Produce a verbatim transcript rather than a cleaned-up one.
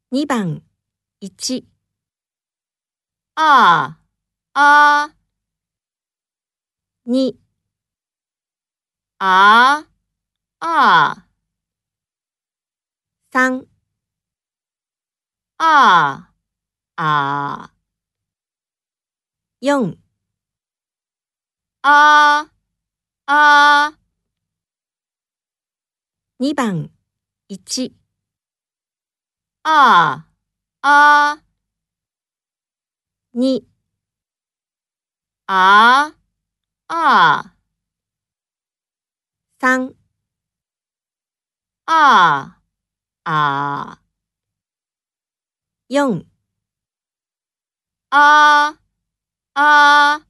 にばんいちああにああさんああよんああにばんいちああにああさんああよんああ